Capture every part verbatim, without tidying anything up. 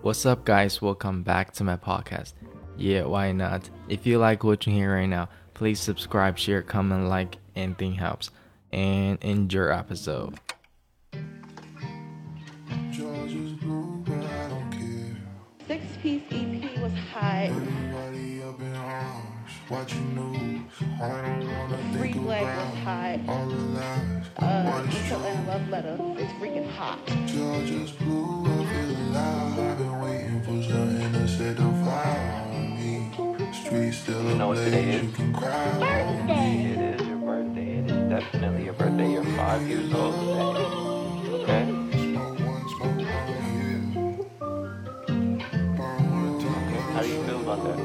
What's up, guys? Welcome back to my podcast. Yeah, why not? If you like what you hear right now, please subscribe, share, comment, like, anything helps. And enjoy your episode. Georgia's blue, but I don't care. Six-piece E P was hot. Everybody up in arms, watching news. I don't wanna Free think Black was about hot. all the lies. Uh, What is Until true? and Love Letter is freaking hot. Georgia's blue, I feel alive. I've been waiting for something to set the fire on me. Streets still You know what today ablaze, is? you can cry on me. It is your birthday. It is definitely your birthday. You're five years old today. Okay? Smoke one, smoke one, yeah. Burn one, talk How do you feel about that?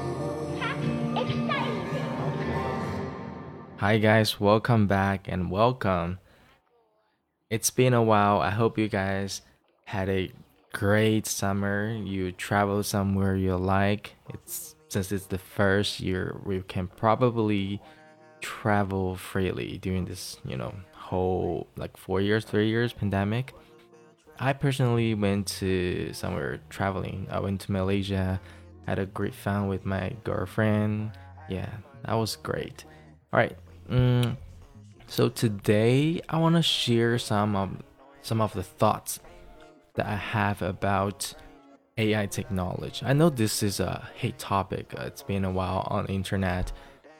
Hi, guys. Welcome back and welcome. It's been a while. I hope you guys had a great summer. You traveled somewhere you like. It's since it's the first year we can probably travel freely during this, you know, whole like four years, three years pandemic. I personally went to somewhere traveling. I went to Malaysia, had a great fun with my girlfriend. Yeah, that was great. All right. Mm, so today I want to share some of some of the thoughts that I have about A I technology. I know this is a hate topic. Uh, it's been a while on the internet.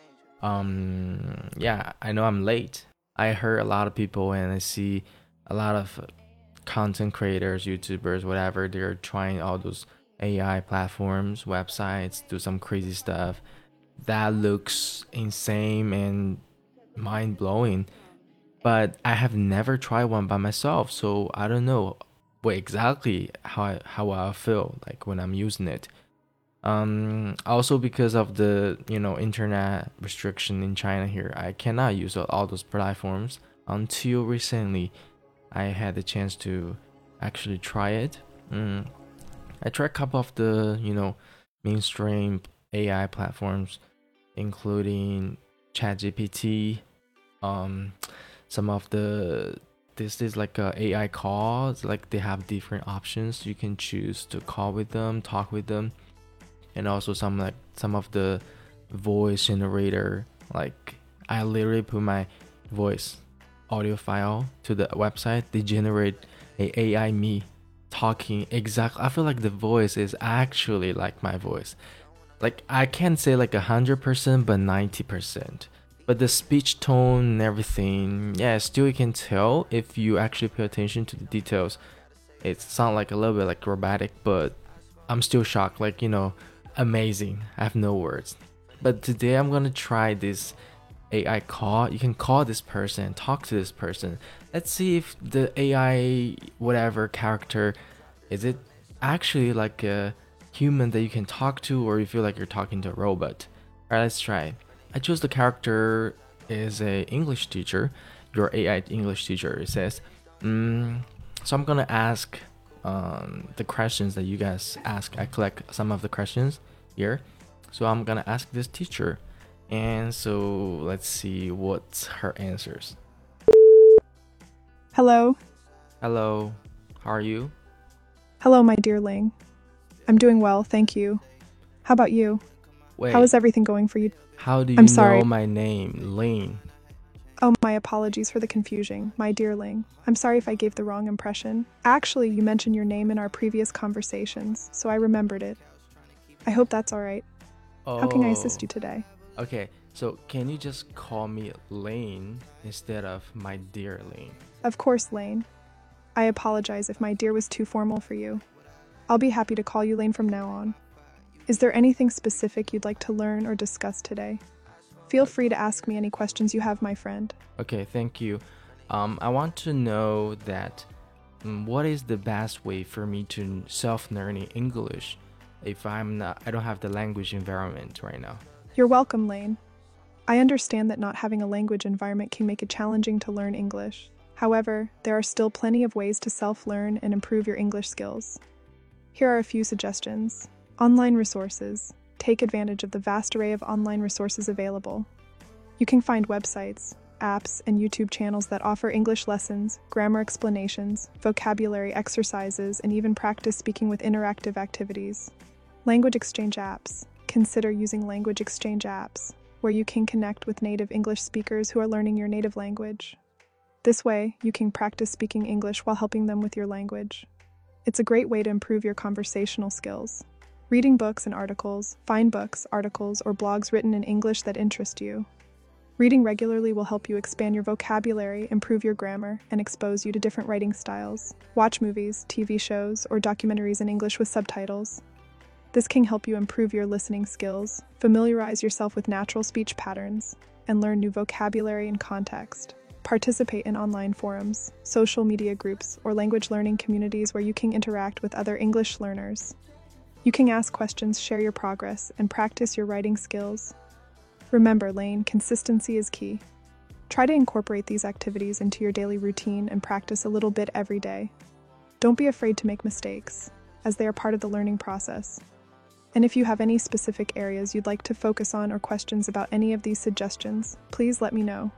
Um, yeah, I know I'm late. I heard a lot of people and I see a lot of content creators, YouTubers, whatever. They're trying all those A I platforms, websites, do some crazy stuff. That looks insane and mind blowing. But I have never tried one by myself, so I don't know what exactly how I, how I feel like when I'm using it. Um, also because of the you know internet restriction in China here, I cannot use all those platforms until recently. I had the chance to actually try it. Mm. I tried a couple of the you know mainstream A I platforms, including ChatGPT. Um, some of the this is like a AI calls. Like they have different options. You can choose to call with them, talk with them, and also some like some of the voice generator. Like I literally put my voice audio file to the website. They generate a AI me talking exactly. I feel like the voice is actually like my voice. Like I can't say like a hundred percent, but ninety percent. But the speech tone and everything, yeah, still you can tell if you actually pay attention to the details. It sounds like a little bit like robotic, but I'm still shocked. Like you know, amazing. I have no words. But today I'm gonna try this A I call. You can call this person, talk to this person. Let's see if the A I whatever character is it actually like a human that you can talk to, or you feel like you're talking to a robot. All right, let's try. I chose the character is a English teacher, your A I English teacher. It says, mm, so I'm gonna ask um, the questions that you guys ask. I collect some of the questions here, so I'm gonna ask this teacher, and so let's see what's her answers. Hello. Hello, how are you? Hello, my dear Ling. I'm doing well, thank you. How about you? Wait, How is everything going for you? how do you I'm sorry. know my name, Lane? Oh, my apologies for the confusion, my dear Ling. I'm sorry if I gave the wrong impression. Actually, you mentioned your name in our previous conversations, so I remembered it. I hope that's all right. Oh, How can I assist you today? Okay, so can you just call me Lane instead of my dear Lane? Of course, Lane. I apologize if my dear was too formal for you. I'll be happy to call you Lane from now on. Is there anything specific you'd like to learn or discuss today? Feel free to ask me any questions you have, my friend. Okay, thank you. Um, I want to know that um, what is the best way for me to self-learning English if I'm not, I don't have the language environment right now. You're welcome, Lane. I understand that not having a language environment can make it challenging to learn English. However, there are still plenty of ways to self-learn and improve your English skills. Here are a few suggestions. Online resources. Take advantage of the vast array of online resources available. You can find websites, apps, and YouTube channels that offer English lessons, grammar explanations, vocabulary exercises, and even practice speaking with interactive activities. Language exchange apps. Consider using language exchange apps, where you can connect with native English speakers who are learning your native language. This way, you can practice speaking English while helping them with your language. It's a great way to improve your conversational skills. Reading books and articles. Find books, articles, or blogs written in English that interest you. Reading regularly will help you expand your vocabulary, improve your grammar, and expose you to different writing styles. Watch movies, T V shows, or documentaries in English with subtitles. This can help you improve your listening skills, familiarize yourself with natural speech patterns, and learn new vocabulary and context. Participate in online forums, social media groups, or language learning communities where you can interact with other English learners. You can ask questions, share your progress, and practice your writing skills. Remember, Lane, consistency is key. Try to incorporate these activities into your daily routine and practice a little bit every day. Don't be afraid to make mistakes, as they are part of the learning process. And if you have any specific areas you'd like to focus on or questions about any of these suggestions, please let me know.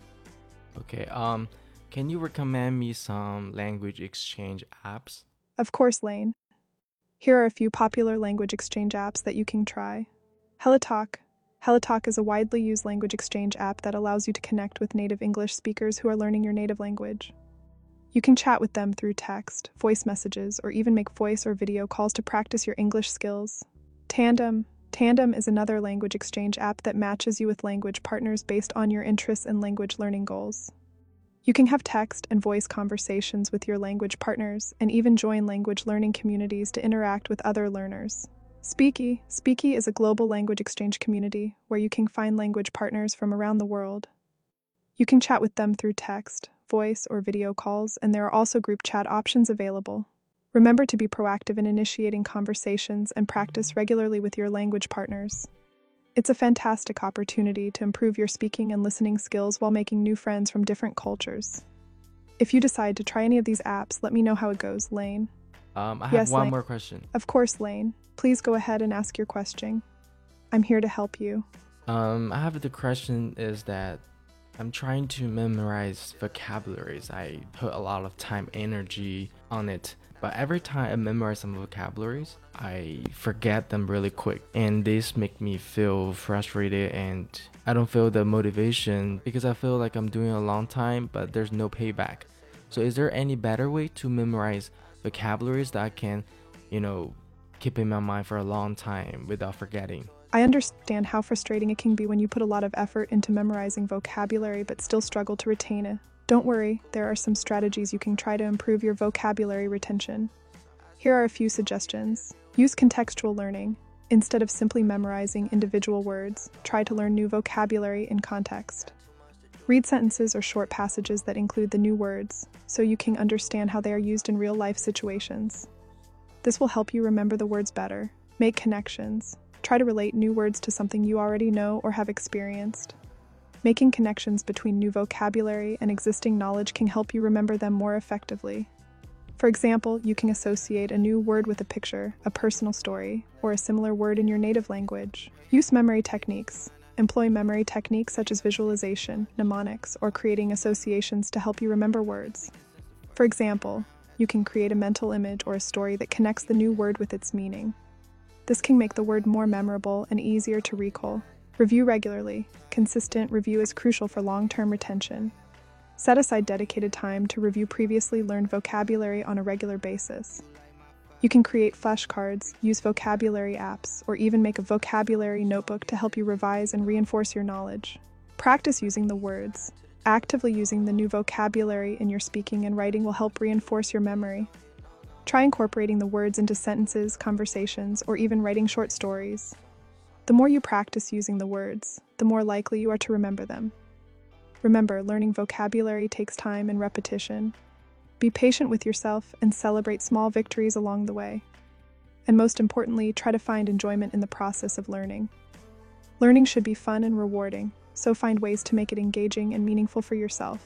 Okay, um, can you recommend me some language exchange apps? Of course, Lane. Here are a few popular language exchange apps that you can try. HelloTalk. HelloTalk is a widely used language exchange app that allows you to connect with native English speakers who are learning your native language. You can chat with them through text, voice messages, or even make voice or video calls to practice your English skills. Tandem. Tandem is another language exchange app that matches you with language partners based on your interests and language learning goals. You can have text and voice conversations with your language partners and even join language learning communities to interact with other learners. Speaky. Speaky is a global language exchange community where you can find language partners from around the world. You can chat with them through text, voice, or video calls, and there are also group chat options available. Remember to be proactive in initiating conversations and practice regularly with your language partners. It's a fantastic opportunity to improve your speaking and listening skills while making new friends from different cultures. If you decide to try any of these apps, let me know how it goes, Lane. Um, I have Yes, one Lane. more question. Of course, Lane. Please go ahead and ask your question. I'm here to help you. Um, I have the question is that I'm trying to memorize vocabularies. I put a lot of time, energy on it. But every time I memorize some vocabularies, I forget them really quick. And this make me feel frustrated and I don't feel the motivation because I feel like I'm doing a long time, but there's no payback. So is there any better way to memorize vocabularies that I can, you know, keep in my mind for a long time without forgetting? I understand how frustrating it can be when you put a lot of effort into memorizing vocabulary but still struggle to retain it. Don't worry, there are some strategies you can try to improve your vocabulary retention. Here are a few suggestions. Use contextual learning. Instead of simply memorizing individual words, try to learn new vocabulary in context. Read sentences or short passages that include the new words, so you can understand how they are used in real-life situations. This will help you remember the words better. Make connections. Try to relate new words to something you already know or have experienced. Making connections between new vocabulary and existing knowledge can help you remember them more effectively. For example, you can associate a new word with a picture, a personal story, or a similar word in your native language. Use memory techniques. Employ memory techniques such as visualization, mnemonics, or creating associations to help you remember words. For example, you can create a mental image or a story that connects the new word with its meaning. This can make the word more memorable and easier to recall. Review regularly. Consistent review is crucial for long-term retention. Set aside dedicated time to review previously learned vocabulary on a regular basis. You can create flashcards, use vocabulary apps, or even make a vocabulary notebook to help you revise and reinforce your knowledge. Practice using the words. Actively using the new vocabulary in your speaking and writing will help reinforce your memory. Try incorporating the words into sentences, conversations, or even writing short stories. The more you practice using the words, the more likely you are to remember them. Remember, learning vocabulary takes time and repetition. Be patient with yourself and celebrate small victories along the way. And most importantly, try to find enjoyment in the process of learning. Learning should be fun and rewarding, so find ways to make it engaging and meaningful for yourself.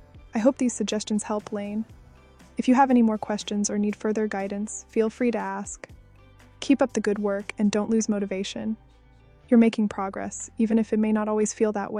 I hope these suggestions help, Lane. If you have any more questions or need further guidance, feel free to ask. Keep up the good work and don't lose motivation. You're making progress, even if it may not always feel that way.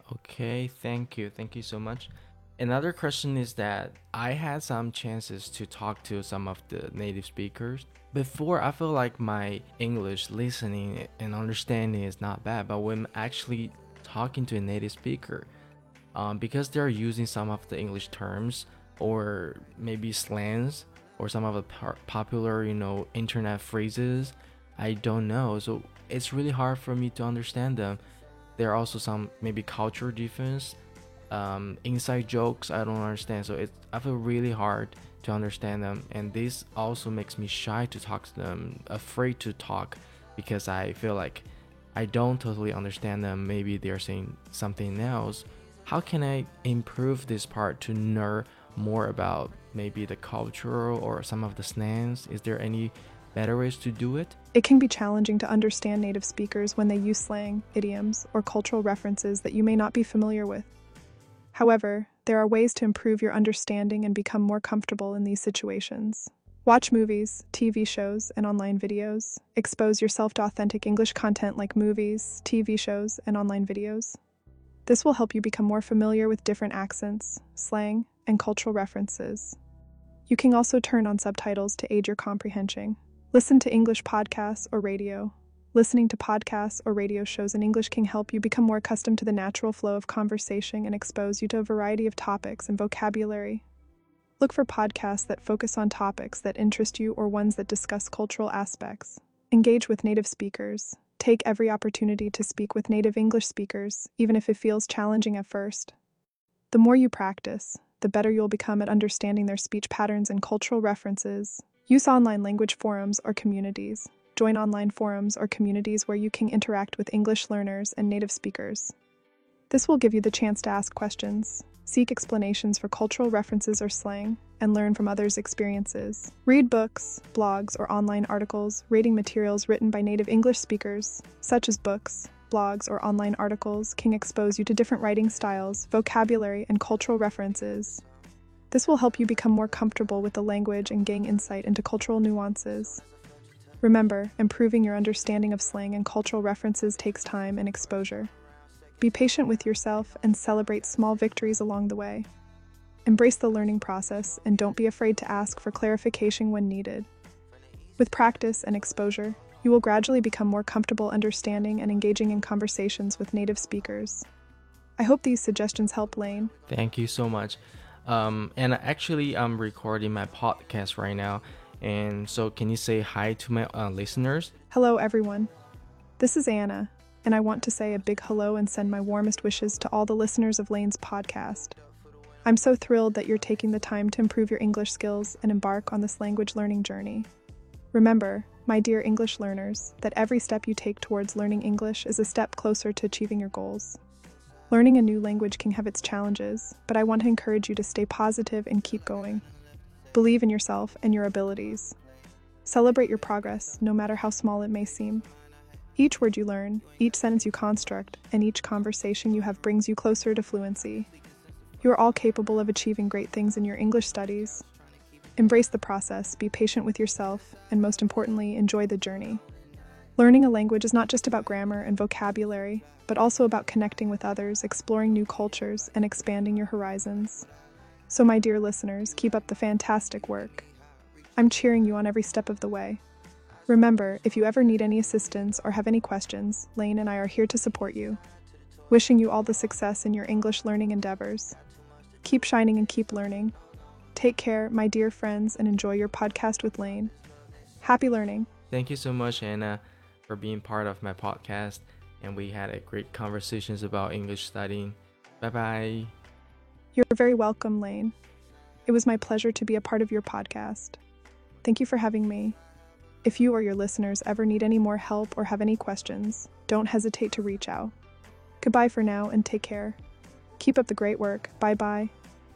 Okay, thank you. Thank you so much. Another question is that I had some chances to talk to some of the native speakers. Before, I feel like my English listening and understanding is not bad, but when actually talking to a native speaker, um, because they're using some of the English terms or maybe slangs or some of the par- popular, you know, internet phrases, I don't know. So it's really hard for me to understand them. There are also some maybe culture difference, um, inside jokes I don't understand. So it I feel really hard to understand them, and this also makes me shy to talk to them, afraid to talk, because I feel like I don't totally understand them. Maybe they're saying something else. How can I improve this part to learn more about maybe the culture or some of the slangs? Is there any better ways to do it? It can be challenging to understand native speakers when they use slang, idioms, or cultural references that you may not be familiar with. However, there are ways to improve your understanding and become more comfortable in these situations. Watch movies, T V shows, and online videos. Expose yourself to authentic English content like movies, T V shows, and online videos. This will help you become more familiar with different accents, slang, and cultural references. You can also turn on subtitles to aid your comprehension. Listen to English podcasts or radio. Listening to podcasts or radio shows in English can help you become more accustomed to the natural flow of conversation and expose you to a variety of topics and vocabulary. Look for podcasts that focus on topics that interest you or ones that discuss cultural aspects. Engage with native speakers. Take every opportunity to speak with native English speakers, even if it feels challenging at first. The more you practice, the better you'll become at understanding their speech patterns and cultural references. Use online language forums or communities. Join online forums or communities where you can interact with English learners and native speakers. This will give you the chance to ask questions, seek explanations for cultural references or slang, and learn from others' experiences. Read books, blogs, or online articles rating materials written by native English speakers, such as books, blogs, or online articles, can expose you to different writing styles, vocabulary, and cultural references. This will help you become more comfortable with the language and gain insight into cultural nuances. Remember, improving your understanding of slang and cultural references takes time and exposure. Be patient with yourself and celebrate small victories along the way. Embrace the learning process and don't be afraid to ask for clarification when needed. With practice and exposure, you will gradually become more comfortable understanding and engaging in conversations with native speakers. I hope these suggestions help, Lane. Thank you so much. Um, and actually, I'm recording my podcast right now. And so, can you say hi to my uh, listeners? Hello, everyone. This is Anna, and I want to say a big hello and send my warmest wishes to all the listeners of Lane's podcast. I'm so thrilled that you're taking the time to improve your English skills and embark on this language learning journey. Remember, my dear English learners, that every step you take towards learning English is a step closer to achieving your goals. Learning a new language can have its challenges, but I want to encourage you to stay positive and keep going. Believe in yourself and your abilities. Celebrate your progress, no matter how small it may seem. Each word you learn, each sentence you construct, and each conversation you have brings you closer to fluency. You are all capable of achieving great things in your English studies. Embrace the process, be patient with yourself, and most importantly, enjoy the journey. Learning a language is not just about grammar and vocabulary, but also about connecting with others, exploring new cultures, and expanding your horizons. So my dear listeners, keep up the fantastic work. I'm cheering you on every step of the way. Remember, if you ever need any assistance or have any questions, Lane and I are here to support you. Wishing you all the success in your English learning endeavors. Keep shining and keep learning. Take care, my dear friends, and enjoy your podcast with Lane. Happy learning. Thank you so much, Anna, for being part of my podcast. And we had a great conversations about English studying. Bye-bye. You're very welcome, Lane. It was my pleasure to be a part of your podcast. Thank you for having me. If you or your listeners ever need any more help or have any questions, don't hesitate to reach out. Goodbye for now and take care. Keep up the great work. Bye-bye.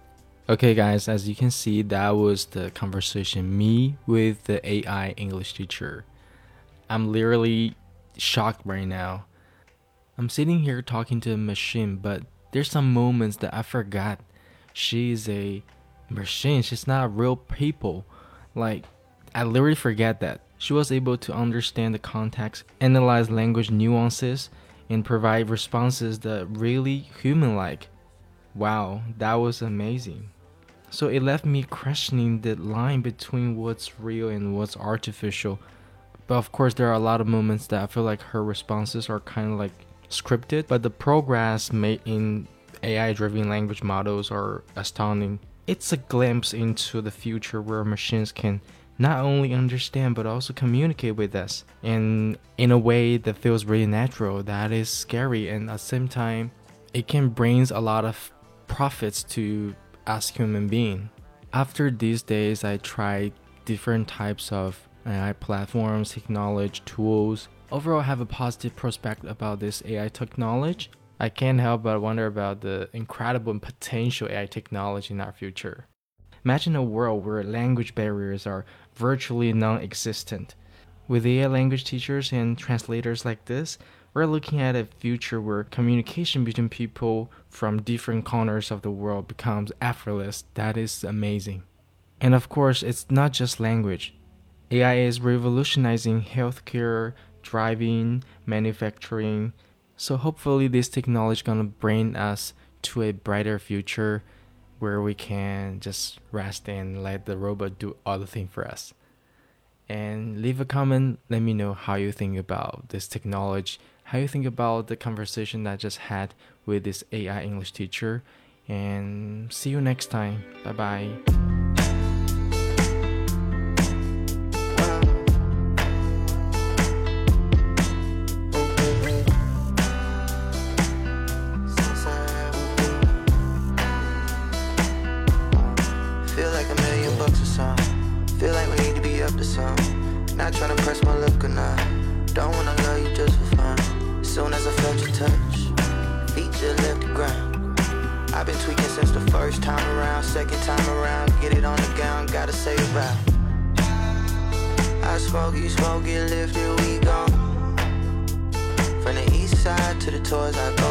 Okay, guys, as you can see, that was the conversation me with the A I English teacher. I'm literally shocked right now. I'm sitting here talking to a machine, but there's some moments that I forgot. She's a machine. She's not real people. Like, I literally forget that. She was able to understand the context, analyze language nuances, and provide responses that really human-like. Wow, that was amazing. So it left me questioning the line between what's real and what's artificial. But of course, there are a lot of moments that I feel like her responses are kind of like scripted, but the progress made in A I-driven language models are astounding. It's a glimpse into the future where machines can not only understand but also communicate with us, and in a way that feels really natural. That is scary, and at the same time, it can bring a lot of profits to us human beings. After these days, I tried different types of A I platforms, technology, tools. Overall, I have a positive prospect about this A I technology. I can't help but wonder about the incredible potential A I technology in our future. Imagine a world where language barriers are virtually non-existent. With A I language teachers and translators like this, we're looking at a future where communication between people from different corners of the world becomes effortless. That is amazing. And of course, it's not just language. A I is revolutionizing healthcare, driving, manufacturing. So hopefully this technology is gonna bring us to a brighter future where we can just rest and let the robot do all the things for us. And leave a comment, let me know how you think about this technology, how you think about the conversation that I just had with this A I English teacher. And see you next time. Bye bye. Feel like we need to be up to some. Not trying to press my luck or not. Don't wanna love you just for fun. As soon as I felt your touch, feet just left the ground. I've been tweaking since the first time around. Second time around, get it on the gown, gotta say it right. I smoke, you smoke, get lifted, we gone. From the east side to the tours, I go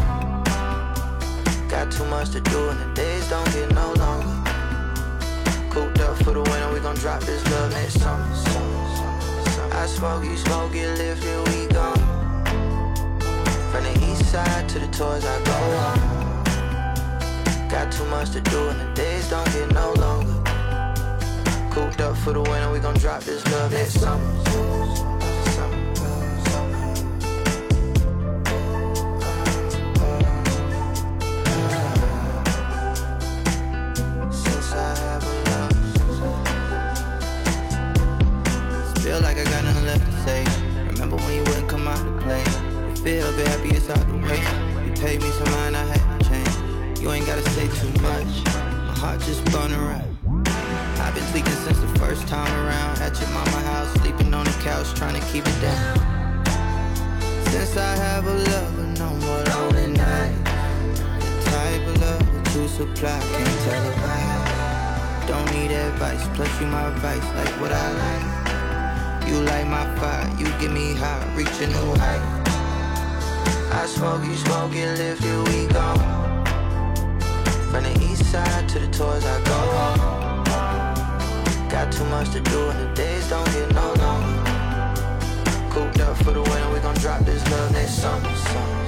home. Got too much to do and the days don't get no longer. Cooped up for the winter, we gon' drop this love next summer. I smoke, you smoke, get lifted, we gone. From the east side to the tours, I go home. Got too much to do and the days don't get no longer. Cooped up for the winter, we gon' drop this love next summer. Feel like I got nothing left to say. Remember when you wouldn't come out to play. You feel be happy it's out the way. You paid me some mind, I had to change. You ain't gotta say too much. My heart just spun around. I've been tweaking since the first time around. At your mama house, sleeping on the couch, trying to keep it down. Since I have a lover, no more lonely night. The type of love that you supply, can't tell about. Don't need advice, plus you my vice, like what I like. You light my fire, you get me high, reach a new height. I smoke, you smoke, get lifted, we gone. From the east side to the tours, I go home. Got too much to do and the days don't get no longer. Cooped up for the winter, we gon' drop this love next summer. summer.